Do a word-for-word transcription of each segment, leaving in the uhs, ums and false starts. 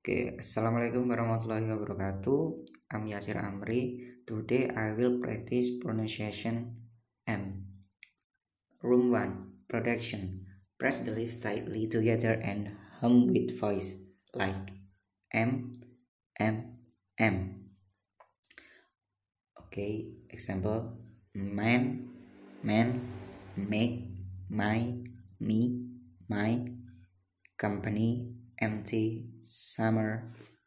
Oke, Assalamualaikum warahmatullahi wabarakatuh. I'm Yasir Amri. Today I will practice pronunciation M. Room one, production. Press the lips tightly together and hum with voice like M, M, M. Okay, example: man, man, make, my, me, my, company, empty, summer,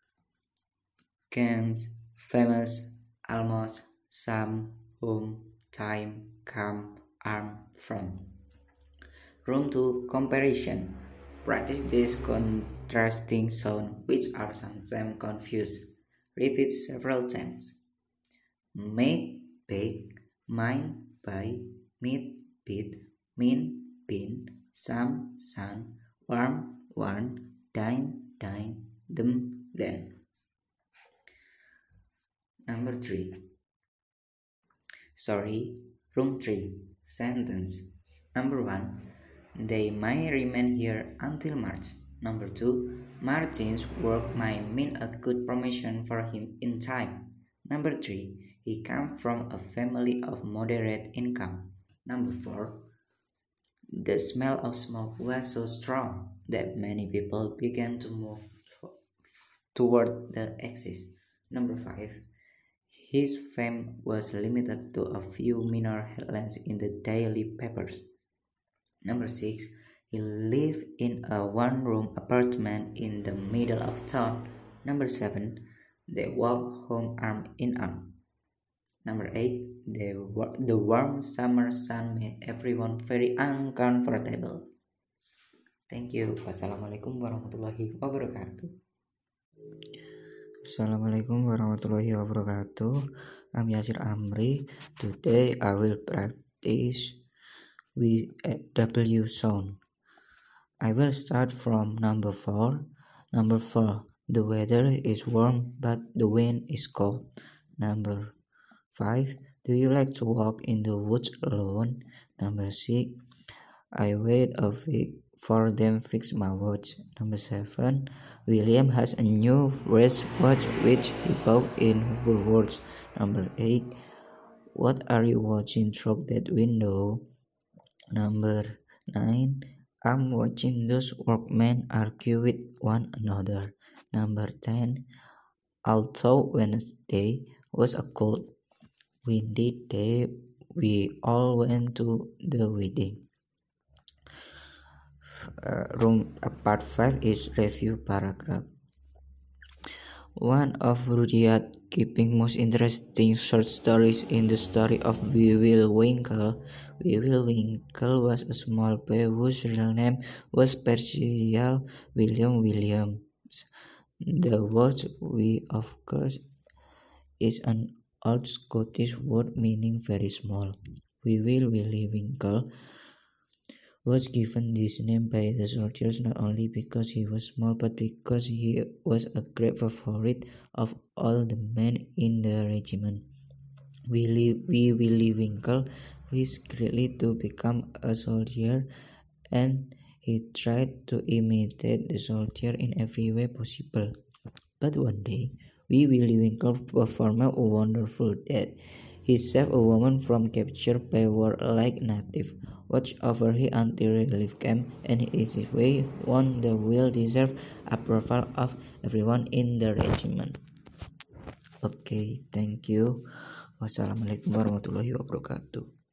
cans, famous, almost, some, home, time, come, arm, from. Room two, comparison. Practice this contrasting sound which are sometimes confused. Repeat several times. Make, bake, mine, buy, meet, beat, mean, bin, some, sun, warm, warn, dine, dine, them, then. Number three. Sorry, room three. Sentence. Number one. They might remain here until March. Number two. Martin's work might mean a good promotion for him in time. Number three. He comes from a family of moderate income. Number four. The smell of smoke was so strong that many people began to move toward the exit. Number five. His fame was limited to a few minor headlines in the daily papers. Number six. He lived in a one-room apartment in the middle of town. Number seven. They walked home arm in arm. Number eight. The, the warm summer sun made everyone very uncomfortable. Thank you. Wassalamualaikum warahmatullahi wabarakatuh. Assalamualaikum warahmatullahi wabarakatuh. I'm Yasir Amri. Today I will practice with a W sound. I will start from number four. Number four. The weather is warm but the wind is cold. Number five. Do you like to walk in the woods alone? Number six. I wait a week for them fix my watch. Number seven. William has a new wristwatch which he bought in Woolworths. Number eight. What are you watching through that window? Number nine. I'm watching those workmen argue with one another. Number ten. Although Wednesday was a cold, windy day, we all went to the wedding. Uh, room uh, part five is review paragraph. One of Rudyard Kipling's most interesting short stories is the story of Wee Wil Winkle. Wee Wil Winkle was a small boy whose real name was Percival William Williams. The word wee, of course, is an old Scottish word meaning very small. Wee Wil Willie Winkle was given this name by the soldiers not only because he was small but because he was a great favorite of all the men in the regiment. Willie, Wee Willie Winkle wished greatly to become a soldier, and he tried to imitate the soldier in every way possible. But one day, Wee Willie Winkle performed a wonderful deed. He saved a woman from capture by warlike native, watched over her until relief came, and in his way won the well-deserved approval of everyone in the regiment. Okay, thank you. Wassalamualaikum warahmatullahi wabarakatuh.